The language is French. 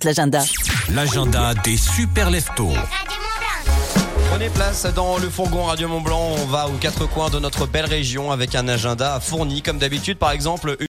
l'agenda. L'agenda des super leftos. Prenez place dans le fourgon Radio Mont Blanc. On va aux quatre coins de notre belle région avec un agenda fourni comme d'habitude. Par exemple,